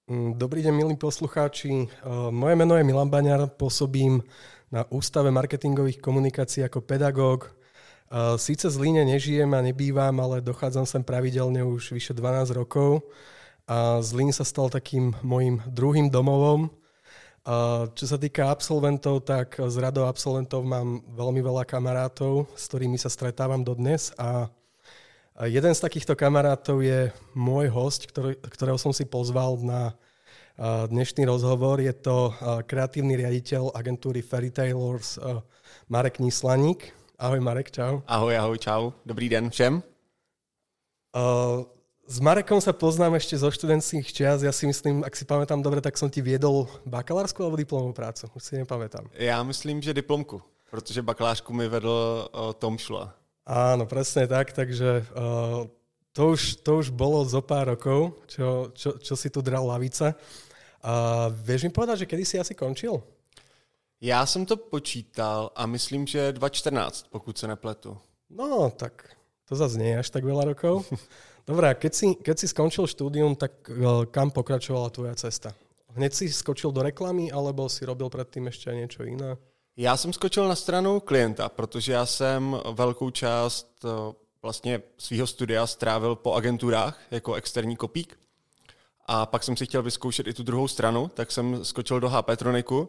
Dobrý deň, milí poslucháči. Moje meno je Milan Baňar, pôsobím na Ústave marketingových komunikácií ako pedagóg. Síce v Zlíne nežijem a nebývam, ale dochádzam sem pravidelne už vyše 12 rokov. A Zlín sa stal takým mojím druhým domovom. Čo sa týka absolventov, tak z radou absolventov mám veľmi veľa kamarátov, s ktorými sa stretávam dodnes. A jeden z takýchto kamarátov je môj host, ktorého som si pozval na dnešný rozhovor. Je to kreatívny riaditeľ agentúry Fairytailers Marek Nislaník. Ahoj Marek, čau. Ahoj, čau. Dobrý den všem. S Marekom sa poznám ešte zo študentských čias. Ja si myslím, ak si pamätám dobre, tak som ti viedol bakalářskou alebo diplomovú prácu. Už si nepamätám. Já myslím, že diplomku, protože bakalářku mi vedl Tom Šula. Áno, presne tak, takže to už bolo zo pár rokov, čo si tu dral lavice. Vieš mi povedať, že kedy si asi končil? Já jsem to počítal a myslím, že 2014, pokud se nepletu. No, tak to zase nie je až tak veľa rokov. Dobrá, keď si skončil štúdium, tak kam pokračovala tvoja cesta? Hneď si skočil do reklamy, alebo si robil predtým ešte aj niečo iné? Já jsem skočil na stranu klienta, protože já jsem velkou část vlastně svého studia strávil po agenturách jako externí kopík. A pak jsem si chtěl vyzkoušet i tu druhou stranu, tak jsem skočil do HP Troniku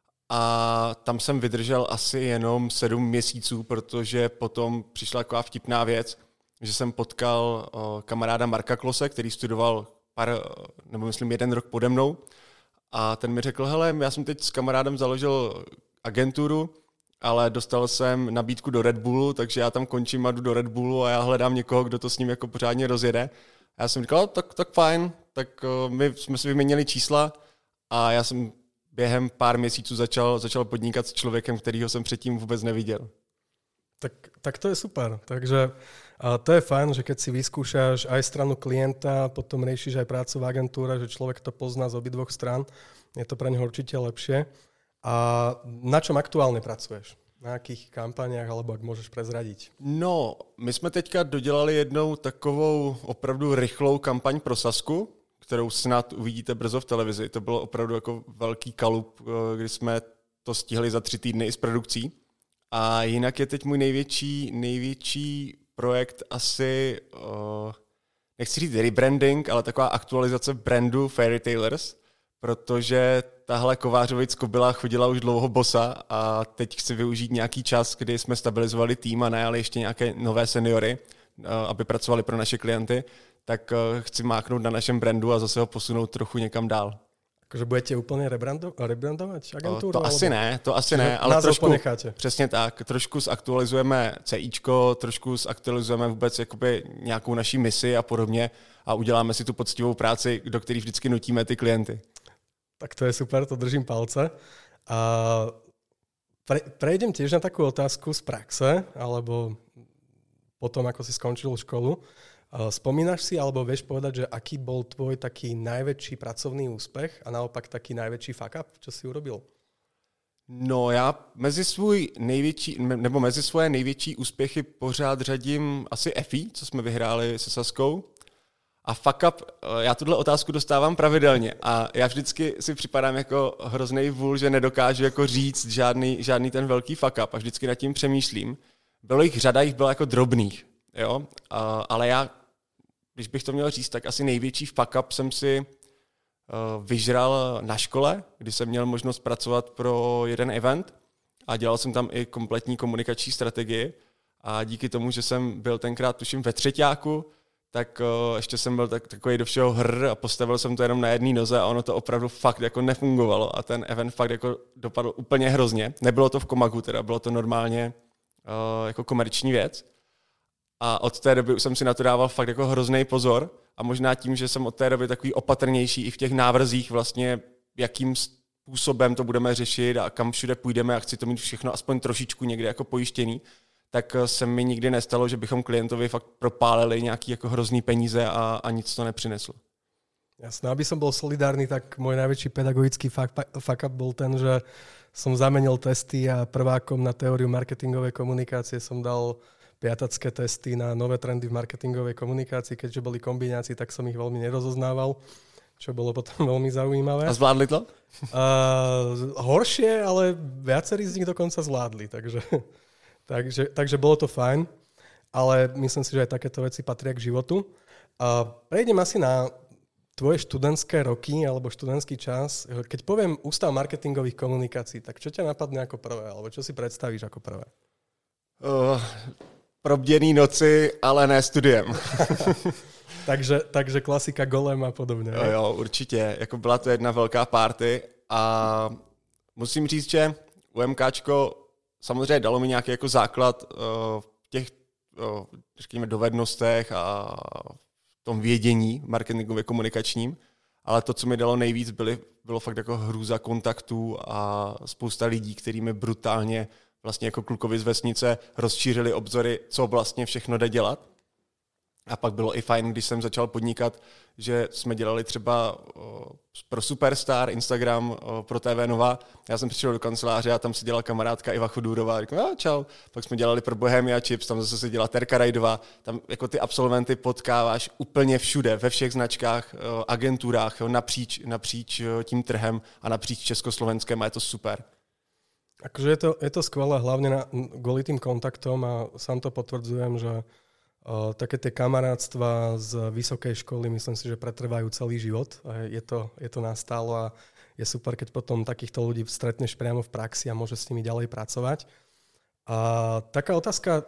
a tam jsem vydržel asi jenom 7 měsíců, protože potom přišla taková vtipná věc, že jsem potkal kamaráda Marka Klose, který studoval myslím 1 rok pode mnou. A ten mi řekl, hele, já jsem teď s kamarádem založil agenturu, ale dostal jsem nabídku do Red Bullu, takže já tam končím a jdu do Red Bullu a já hledám někoho, kdo to s ním jako pořádně rozjede. A já jsem říkal, tak fajn, tak my jsme si vyměnili čísla a já jsem během pár měsíců začal podnikat s člověkem, kterýho jsem předtím vůbec neviděl. Tak to je super. Takže to je fajn, že keď si vyskúšaš aj stranu klienta, potom riešiš aj prácu v agentúre, že človek to pozná z obidvoch strán, je to pre neho určite lepšie. A na čom aktuálne pracuješ? Na jakých kampaniách, alebo ak môžeš prezradiť? No, my jsme teďka dodělali jednou takovou opravdu rychlou kampaň pro Sasku, kterou snad uvidíte brzo v televizi. To bylo opravdu jako velký kalup, kdy jsme to stihli za 3 týdny i s produkcí. A jinak je teď můj největší projekt asi, nechci říct rebranding, ale taková aktualizace brandu Fairytailers, protože tahle Kovářovic kobyla chodila už dlouho bosa a teď chci využít nějaký čas, kdy jsme stabilizovali tým a najali ještě nějaké nové seniory, aby pracovali pro naše klienty, tak chci máknout na našem brandu a zase ho posunout trochu někam dál. Takže budete úplně rebrandovat agenturu? To asi ne, ale trošku ponecháte. Přesně tak, trošku zaktualizujeme CIčko, trošku zaktualizujeme vůbec jakoby nějakou naší misi a podobně a uděláme si tu poctivou práci, do které vždycky nutíme ty klienty. Tak to je super, to držím palce. A prejdem tiež na takú otázku z praxe, alebo potom, ako si skončil školu. Spomínaš si, alebo vieš povedať, že aký bol tvoj taký najväčší pracovný úspech a naopak taký najväčší fuck up, čo si urobil? No já mezi svoje největší úspěchy pořád řadím asi EFI, co jsme vyhráli se Saskou. A fuck up, já tuhle otázku dostávám pravidelně a já vždycky si připadám jako hroznej vůl, že nedokážu jako říct žádný ten velký fuck up a vždycky nad tím přemýšlím. Bylo jich řada, jich bylo jako drobných, jo? Ale já, když bych to měl říct, tak asi největší fuck up jsem si vyžral na škole, kdy jsem měl možnost pracovat pro jeden event a dělal jsem tam i kompletní komunikační strategii a díky tomu, že jsem byl tenkrát tuším ve třeťáku, tak ještě jsem byl takový do všeho a postavil jsem to jenom na jedné noze a ono to opravdu fakt jako nefungovalo a ten event fakt jako dopadl úplně hrozně. Nebylo to v Komagu, teda bylo to normálně jako komerční věc. A od té doby už jsem si na to dával fakt jako hrozný pozor a možná tím, že jsem od té doby takový opatrnější i v těch návrzích vlastně, jakým způsobem to budeme řešit a kam všude půjdeme a chci to mít všechno aspoň trošičku někde jako pojištěný, tak se mi nikdy nestalo, že bychom klientovi fakt propálili nějaký jako hrozný peníze a nic to nepřineslo. Jasné, aby som bol solidárny, tak môj najväčší pedagogický fuck up bol ten, že som zamenil testy a prvákom na teóriu marketingovej komunikácie som dal piatacké testy na nové trendy v marketingovej komunikácii, keďže boli kombinácii, tak som ich veľmi nerozoznával. čo bolo potom veľmi zaujímavé. A zvládli to? Horšie, ale viacerí z nich dokonca zvládli, takže bolo to fajn, ale myslím si, že aj takéto veci patria k životu. Prejdem asi na tvoje študentské roky alebo študentský čas. Keď poviem Ústav marketingových komunikácií, tak čo ťa napadne ako prvé? Alebo čo si predstavíš ako prvé? Probděný noci, ale ne studiem. takže klasika Golem a podobně. Jo, určitě. Jako byla to jedna velká party a musím říct, že UMKčko samozřejmě dalo mi nějaký jako základ v těch řekněme, dovednostech a v tom vědění marketingově komunikačním, ale to, co mi dalo nejvíc, bylo fakt jako hrůza kontaktů a spousta lidí, který mi brutálně vlastně jako klukovi z vesnice rozšířili obzory, co vlastně všechno jde dělat. A pak bylo i fajn, když jsem začal podnikat, že jsme dělali třeba pro Superstar, Instagram, pro TV Nova. Já jsem přišel do kanceláře a tam si dělala kamarádka Iva Chodůrová. A říkám, čau. Pak jsme dělali pro Bohemia Chips, tam zase se dělala Terka Rajdová. Tam jako ty absolventy potkáváš úplně všude, ve všech značkách, agenturách, napříč tím trhem a napříč Československem a je to super. Akože je to skvelé, hlavne kvôli tým kontaktom a sám to potvrdzujem, že také tie kamarátstva z vysokej školy myslím si, že pretrvajú celý život. Je to nastálo a je super, keď potom takýchto ľudí stretneš priamo v praxi a môžeš s nimi ďalej pracovať. A taká otázka,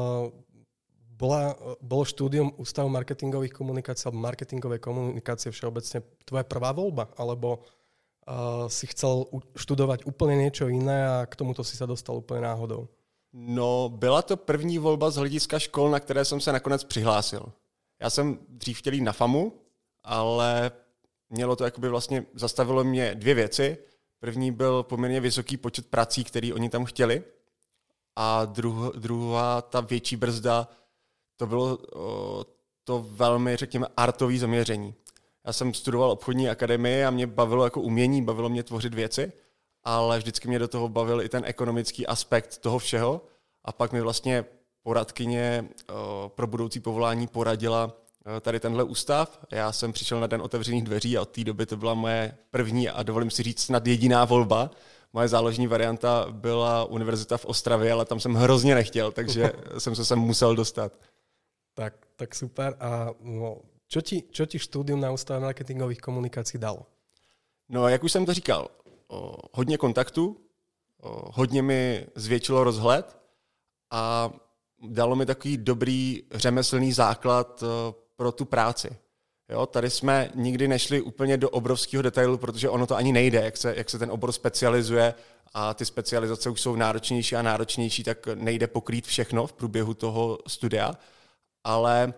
bolo štúdium Ústavu marketingových komunikácií alebo marketingovej komunikácie všeobecne tvoja prvá voľba? Alebo si chcel študovať úplne niečo iné a k tomuto si sa dostal úplne náhodou? No, byla to první volba z hlediska škol, na které jsem se nakonec přihlásil. Já jsem dřív chtěl jít na FAMu, ale mělo to jakoby vlastně, zastavilo mě dvě věci. První byl poměrně vysoký počet prací, který oni tam chtěli. A druhá, ta větší brzda, to bylo to velmi, řekněme, artové zaměření. Já jsem studoval obchodní akademii a mě bavilo jako umění, bavilo mě tvořit věci, ale vždycky mě do toho bavil i ten ekonomický aspekt toho všeho. A pak mi vlastně poradkyně pro budoucí povolání poradila tady tenhle ústav. Já jsem přišel na den otevřených dveří a od té doby to byla moje první a dovolím si říct snad jediná volba. Moje záložní varianta byla univerzita v Ostravě, ale tam jsem hrozně nechtěl, takže jsem se sem musel dostat. Tak super. A čo ti štúdium na Ústave marketingových komunikácií dalo? No, jak už jsem to říkal, hodně kontaktů, hodně mi zvětšilo rozhled a dalo mi takový dobrý řemeslný základ pro tu práci. Jo, tady jsme nikdy nešli úplně do obrovského detailu, protože ono to ani nejde, jak se ten obor specializuje a ty specializace už jsou náročnější a náročnější, tak nejde pokrýt všechno v průběhu toho studia, ale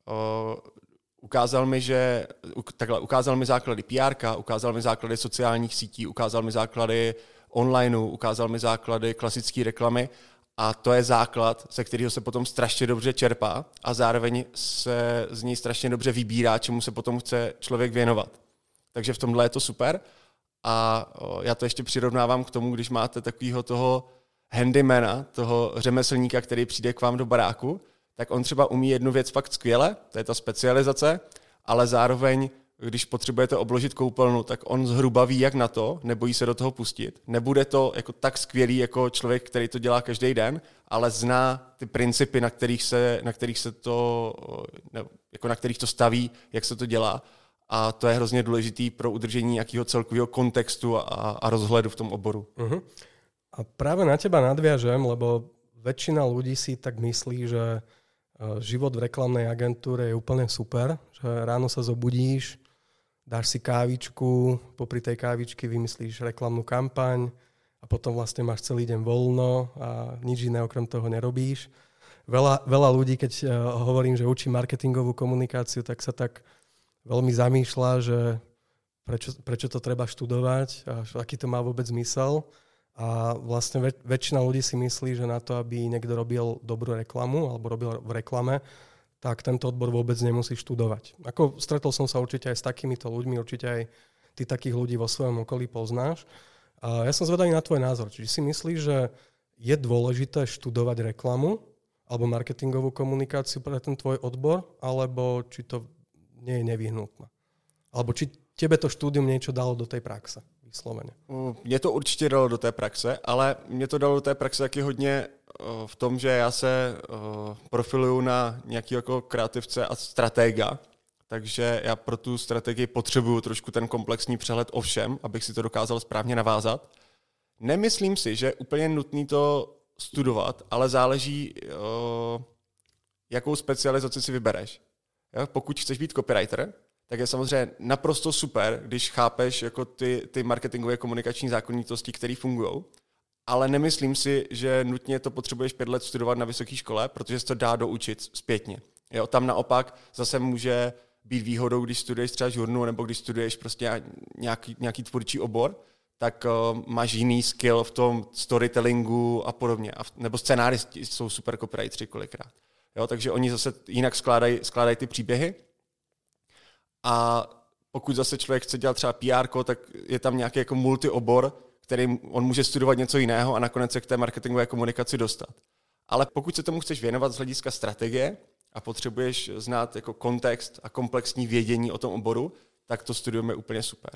ukázal mi základy PR, ukázal mi základy sociálních sítí, ukázal mi základy online, ukázal mi základy klasické reklamy a to je základ, ze kterého se potom strašně dobře čerpá a zároveň se z něj strašně dobře vybírá, čemu se potom chce člověk věnovat. Takže v tomhle je to super a já to ještě přirovnávám k tomu, když máte takového toho handymana, toho řemeslníka, který přijde k vám do baráku, tak on třeba umí jednu věc fakt skvěle, to je ta specializace, ale zároveň, když potřebujete obložit koupelnu, tak on zhruba ví, jak na to, nebojí se do toho pustit. Nebude to jako tak skvělý jako člověk, který to dělá každý den, ale zná ty principy, na kterých to staví, jak se to dělá. A to je hrozně důležitý pro udržení nějakého celkového kontextu a rozhledu v tom oboru. Uh-huh. A práve na teba nadviažem, lebo väčšina ľudí si tak myslí, že život v reklamnej agentúre je úplne super, že ráno sa zobudíš, dáš si kávičku, popri tej kávičky vymyslíš reklamnú kampaň a potom vlastne máš celý deň voľno a nič iné okrem toho nerobíš. Veľa ľudí, keď hovorím, že učím marketingovú komunikáciu, tak sa tak veľmi zamýšľa, že prečo to treba študovať a aký to má vôbec zmysel. A vlastne väčšina ľudí si myslí, že na to, aby niekto robil dobrú reklamu alebo robil v reklame, tak tento odbor vôbec nemusí študovať. Ako stretol som sa určite aj s takýmito ľuďmi, určite aj ty takých ľudí vo svojom okolí poznáš. A ja som zvedavý na tvoj názor. Čiže si myslíš, že je dôležité študovať reklamu alebo marketingovú komunikáciu pre ten tvoj odbor, alebo či to nie je nevyhnutné? Alebo či tebe to štúdium niečo dalo do tej praxe, vyslovene? Mě to určitě dalo do té praxe, ale mě to dalo do té praxe taky hodně v tom, že já se profiluju na nějaký jako kreativce a stratega, takže já pro tu strategii potřebuju trošku ten komplexní přehled o všem, abych si to dokázal správně navázat. Nemyslím si, že je úplně nutný to studovat, ale záleží, jakou specializaci si vybereš. Pokud chceš být copywriter, tak je samozřejmě naprosto super, když chápeš jako ty marketingové komunikační zákonitosti, které fungují, ale nemyslím si, že nutně to potřebuješ 5 let studovat na vysoké škole, protože se to dá doučit zpětně. Jo, tam naopak zase může být výhodou, když studuješ třeba žurnu nebo když studuješ prostě nějaký tvůrčí obor, tak máš jiný skill v tom storytellingu a podobně. Nebo scénáristi jsou super copywriteri kolikrát. Jo, takže oni zase jinak skládají ty příběhy. A pokud zase člověk chce dělat třeba PR, tak je tam nějaký jako multiobor, který on může studovat něco jiného a nakonec se k té marketingové komunikaci dostat. Ale pokud se tomu chceš věnovat z hlediska strategie a potřebuješ znát jako kontext a komplexní vědění o tom oboru, tak to studium je úplně super.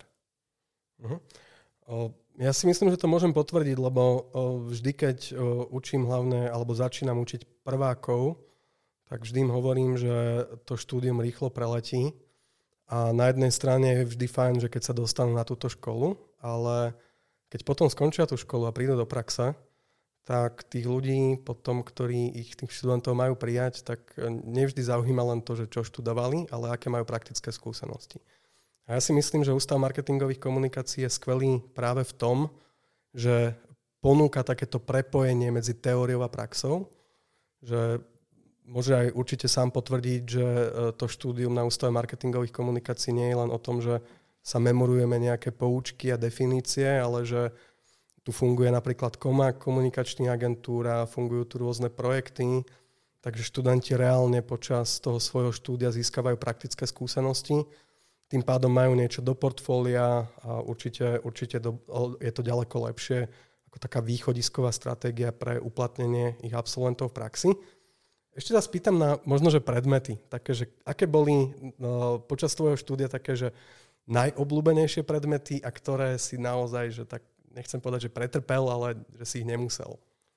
Ja si myslím, že to môžem potvrdiť, lebo vždy, keď učím hlavne, alebo začínam učiť prvákov, tak vždy im hovorím, že to štúdium rýchlo preletí. A na jednej strane je vždy fajn, že keď sa dostanú na túto školu, ale keď potom skončia tú školu a prídu do praxe, tak tých ľudí potom, ktorí tých študentov majú prijať, tak nevždy zaujíma len to, že čo študovali, ale aké majú praktické skúsenosti. A ja si myslím, že Ústav marketingových komunikácií je skvelý práve v tom, že ponúka takéto prepojenie medzi teóriou a praxou, že môže aj určite sám potvrdiť, že to štúdium na Ústave marketingových komunikácií nie je len o tom, že sa memorujeme nejaké poučky a definície, ale že tu funguje napríklad Komák, komunikačná agentúra, fungujú tu rôzne projekty, takže študenti reálne počas toho svojho štúdia získavajú praktické skúsenosti. Tým pádom majú niečo do portfólia a určite je to ďaleko lepšie ako taká východisková stratégia pre uplatnenie ich absolventov v praxi. Ešte sa spýtam na možno, že predmety. Také, že aké boli počas tvojho štúdia také, že najobľúbenejšie predmety a ktoré si naozaj, že tak nechcem povedať, že pretrpel, ale že si ich nemusel.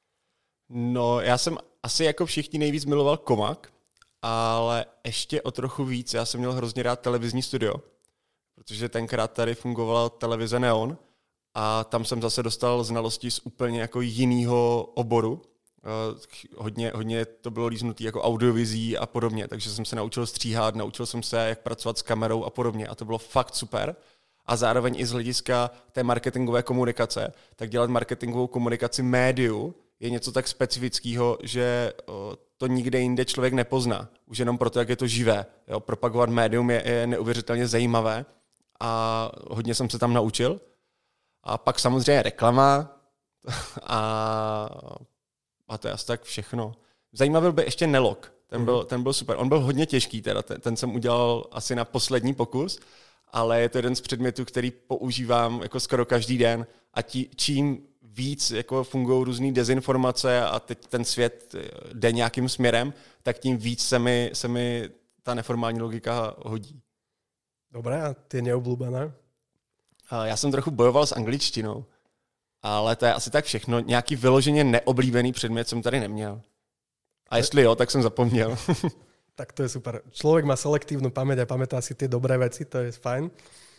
No, já jsem asi jako všichni nejvíc miloval Komák, ale ještě o trochu víc. Já jsem měl hrozně rád televizní studio, protože tenkrát tady fungovala televize Neon a tam jsem zase dostal znalosti z úplně jako jiného oboru. Hodně to bylo líznutý jako audiovizí a podobně, takže jsem se naučil stříhat, naučil jsem se, jak pracovat s kamerou a podobně a to bylo fakt super. A zároveň i z hlediska té marketingové komunikace, tak dělat marketingovou komunikaci médiu je něco tak specifického, že to nikde jinde člověk nepozná. Už jenom proto, jak je to živé. Jo, propagovat médium je neuvěřitelně zajímavé a hodně jsem se tam naučil. A pak samozřejmě reklama a to je asi tak všechno. Zajímavý byl ještě Nelog. Ten byl super. On byl hodně těžký, teda ten jsem udělal asi na poslední pokus, ale je to jeden z předmětů, který používám jako skoro každý den a čím víc jako fungují různý dezinformace a teď ten svět jde nějakým směrem, tak tím víc se mi ta neformální logika hodí. Dobré, a ty neobľúbené? Já jsem trochu bojoval s angličtinou, ale to je asi tak všechno. Nějaký vyloženě neoblíbený předmět jsem tady neměl. A jestli jo, tak jsem zapomněl. Tak to je super. Človek má selektívnu pamäť a pamätá si tie dobré veci, to je fajn.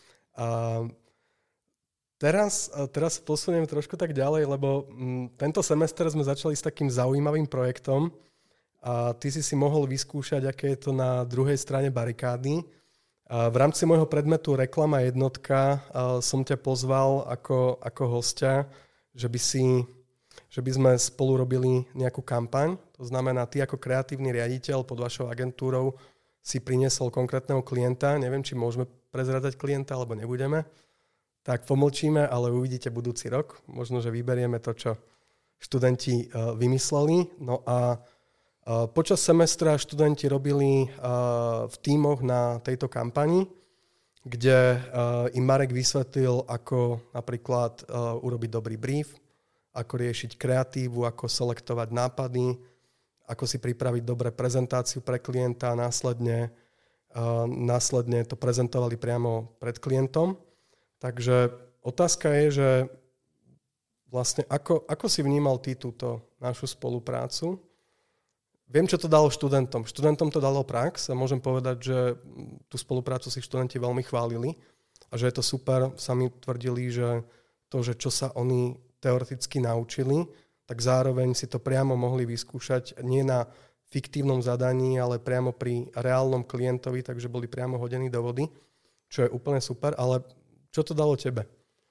Teraz posuniem trošku tak ďalej, lebo tento semester sme začali s takým zaujímavým projektom a ty si mohol vyskúšať, aké je to na druhej strane barikády. V rámci môjho predmetu Reklama jednotka som ťa pozval ako hostia, že by sme spolu robili nejakú kampaň. To znamená, ty ako kreatívny riaditeľ pod vašou agentúrou si priniesol konkrétneho klienta. Neviem, či môžeme prezradať klienta, alebo nebudeme. Tak pomlčíme, ale uvidíte budúci rok. Možno, že vyberieme to, čo študenti vymysleli. No a počas semestra študenti robili v tímoch na tejto kampani, kde im Marek vysvetlil, ako napríklad urobiť dobrý brief, ako riešiť kreatívu, ako selektovať nápady, ako si pripraviť dobré prezentáciu pre klienta a následne následne to prezentovali priamo pred klientom. Takže otázka je, že vlastne ako si vnímal ty túto našu spoluprácu? Viem, čo to dalo študentom. Študentom to dalo prax a môžem povedať, že tú spoluprácu si študenti veľmi chválili a že je to super. Sami tvrdili, že to, že čo sa oni teoreticky naučili, tak zároveň si to priamo mohli vyskúšať nie na fiktívnom zadaní, ale priamo pri reálnom klientovi, takže boli priamo hodení do vody, čo je úplne super. Ale čo to dalo tebe?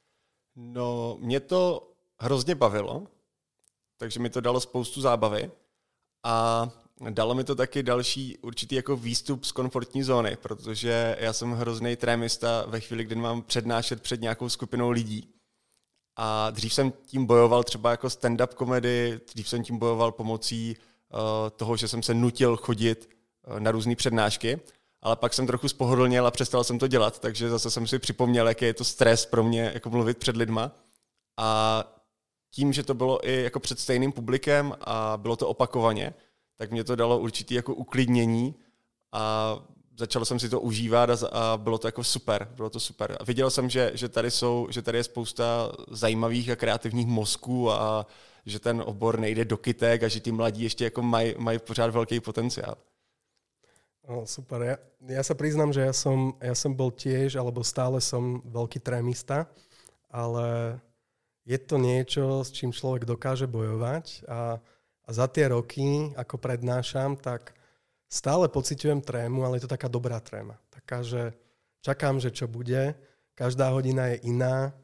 No, mě to hrozně bavilo, takže mi to dalo spoustu zábavy a dalo mi to taky další určitý jako výstup z komfortní zóny, protože já jsem hrozný trémista ve chvíli, kdy mám přednášet před nějakou skupinou lidí. A dřív jsem tím bojoval třeba jako stand-up komedy, dřív jsem tím bojoval pomocí toho, že jsem se nutil chodit na různé přednášky, ale pak jsem trochu spohodlněl a přestal jsem to dělat, takže zase jsem si připomněl, jaký je to stres pro mě jako mluvit před lidma. A tím, že to bylo i jako před stejným publikem a bylo to opakovaně, tak mě to dalo určitý jako uklidnění a začal jsem si to užívat a bylo to jako super, bylo to super. A viděl jsem, že tady je spousta zajímavých a kreativních mozků a že ten obor nejde do kytek a že ty mladí ještě jako mají pořád velký potenciál. Super. Ja sa priznám, že ja som bol tiež, alebo stále som veľký trémista, ale je to niečo, s čím človek dokáže bojovať a za tie roky, ako prednášam, tak stále pociťujem trému, ale je to taká dobrá tréma. Taká, že čakám, že čo bude, každá hodina je iná,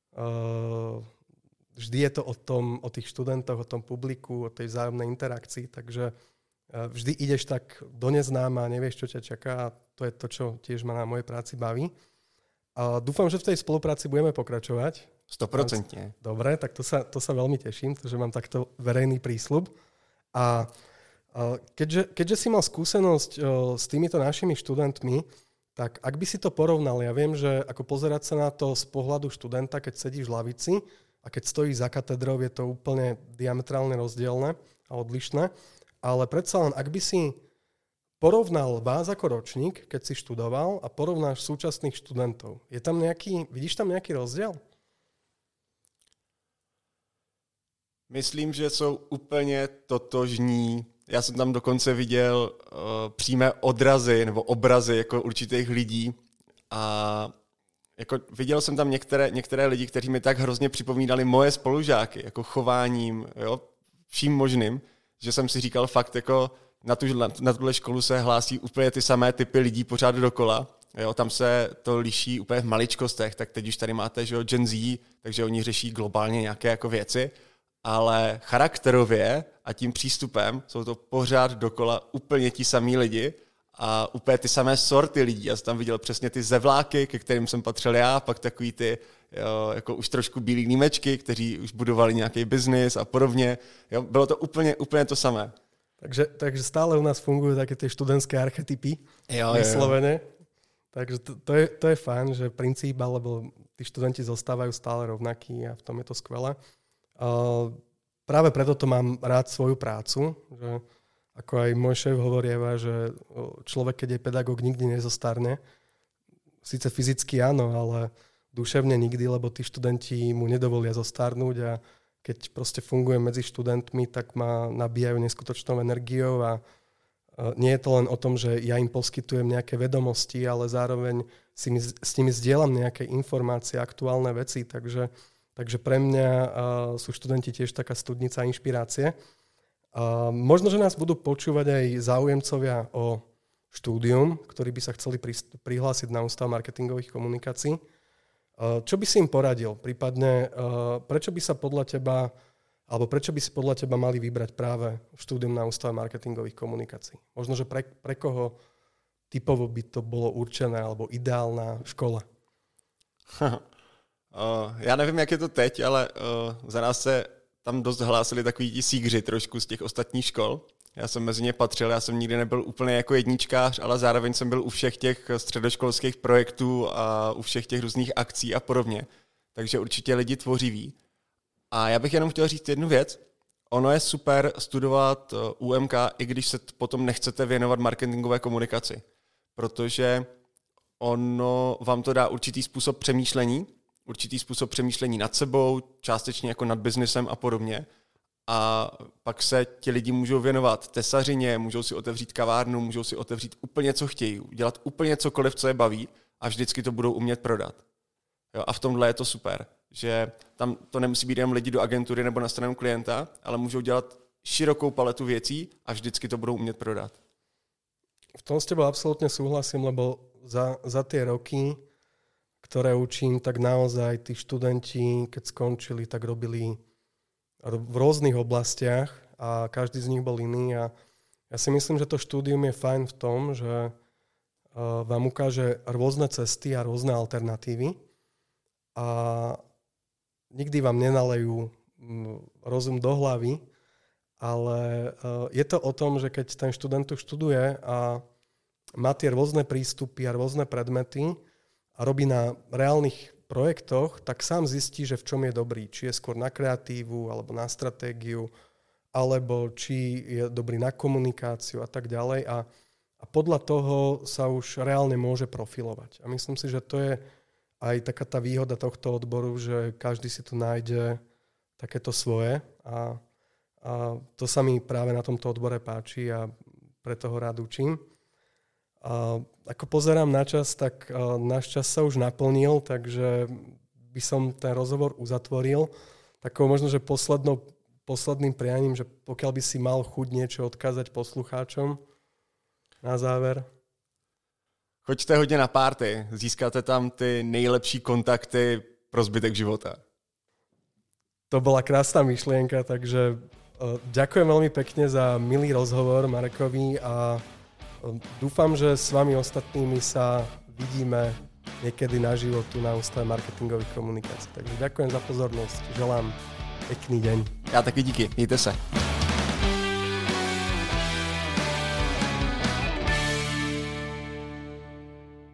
vždy je to o tých študentoch, o tom publiku, o tej vzájomnej interakcii, takže vždy ideš tak do neznáma, nevieš, čo ťa čaká a to je to, čo tiež ma na mojej práci baví. A dúfam, že v tej spolupráci budeme pokračovať. 100%. Dobre, tak to sa veľmi teším, že mám takto verejný prísľub. A keďže si mal skúsenosť s týmito našimi študentmi, tak ak by si to porovnal, ja viem, že ako pozerať sa na to z pohľadu študenta, keď sedíš v lavici a keď stojíš za katedrou, je to úplne diametrálne rozdielne a odlišné. Ale predsa len, ak by si porovnal vás ako ročník, keď si študoval a porovnáš súčasných študentov, vidíš tam nejaký rozdiel? Myslím, že jsou úplně totožní. Já jsem tam dokonce viděl přímé odrazy nebo obrazy jako určitých lidí a jako viděl jsem tam některé lidi, kteří mi tak hrozně připomínali moje spolužáky, jako chováním, jo, vším možným, že jsem si říkal fakt, jako na tuhle školu se hlásí úplně ty samé typy lidí pořád dokola. Jo, tam se to liší úplně v maličkostech, tak teď už tady máte, že jo, Gen Z, takže oni řeší globálně nějaké jako věci, ale charakterově a tím přístupem jsou to pořád dokola úplně ti samí lidi a úplně ty samé sorty lidí. Já jsem tam viděl přesně ty zevláky, ke kterým jsem patřil já, pak takový ty jo, jako už trošku bílí límečky, kteří už budovali nějaký biznis a podobně. Jo, bylo to úplně to samé. Takže stále u nás fungujú také tie študentské archetypy vyslovene. Takže to je fajn, že princíp, alebo tí študenti zostávajú stále rovnakí a v tom je to skvelé. Práve preto to mám rád svoju prácu, že ako aj môj šéf hovorieva, že človek, keď je pedagóg, nikdy nezostarne. Sice fyzicky áno, ale duševne nikdy, lebo tí študenti mu nedovolia zostarnúť a keď proste fungujem medzi študentmi, tak ma nabíjajú neskutočnou energiou a nie je to len o tom, že ja im poskytujem nejaké vedomosti, ale zároveň s nimi zdieľam nejaké informácie, aktuálne veci, takže pre mňa sú študenti tiež taká studnica inšpirácie. Možno, že nás budú počúvať aj záujemcovia o štúdium, ktorí by sa chceli prihlásiť na Ústav marketingových komunikácií. Čo by si im poradil? Prípadne, prečo by si podľa teba mali vybrať práve štúdium na Ústave marketingových komunikácií? Možno, že pre koho typovo by to bolo určené alebo ideálna škola? Já nevím, jak je to teď, ale za nás se tam dost hlásili takový ti sígři trošku z těch ostatních škol. Já jsem mezi ně patřil, já jsem nikdy nebyl úplně jako jedničkář, ale zároveň jsem byl u všech těch středoškolských projektů a u všech těch různých akcí a podobně. Takže určitě lidi tvořiví. A já bych jenom chtěl říct jednu věc. Ono je super studovat UMK, i když se potom nechcete věnovat marketingové komunikaci. protože ono vám to dá určitý způsob přemýšlení nad sebou, částečně jako nad biznesem a podobně. A pak se ti lidi můžou věnovat tesařině, můžou si otevřít kavárnu, můžou si otevřít úplně, co chtějí, dělat úplně cokoliv, co je baví a vždycky to budou umět prodat. Jo, a v tomhle je to super, že tam to nemusí být jenom lidi do agentury nebo na stranu klienta, ale můžou dělat širokou paletu věcí a vždycky to budou umět prodat. V tom s tebou absolútne súhlasím, lebo za tie roky, ktoré učím, tak naozaj tí študenti, keď skončili, tak robili v rôznych oblastiach a každý z nich bol iný. A ja si myslím, že to štúdium je fajn v tom, že vám ukáže rôzne cesty a rôzne alternatívy a nikdy vám nenalejú rozum do hlavy, ale je to o tom, že keď ten študent tu študuje a má tie rôzne prístupy a rôzne predmety a robí na reálnych projektoch, tak sám zistí, že v čom je dobrý. Či je skôr na kreatívu, alebo na stratégiu, alebo či je dobrý na komunikáciu a tak ďalej. A podľa toho sa už reálne môže profilovať. A myslím si, že to je aj taká tá výhoda tohto odboru, že každý si tu nájde takéto svoje. A to sa mi práve na tomto odbore páči a preto ho rád učím. Ako pozerám na čas, tak náš čas sa už naplnil, takže by som ten rozhovor uzatvoril. Takou možno, že posledným prianím, že pokiaľ by si mal chuť niečo odkázať poslucháčom na záver. Choďte hodně na party, získáte tam ty nejlepší kontakty pro zbytek života. To bola krásna myšlienka, takže ďakujem veľmi pekne za milý rozhovor Marekovi a dúfam, že s vami ostatnými sa vidíme niekedy naživo tu na Ústave marketingových komunikácií. Takže ďakujem za pozornosť. Želám pekný deň. Já taky díky. Mějte se.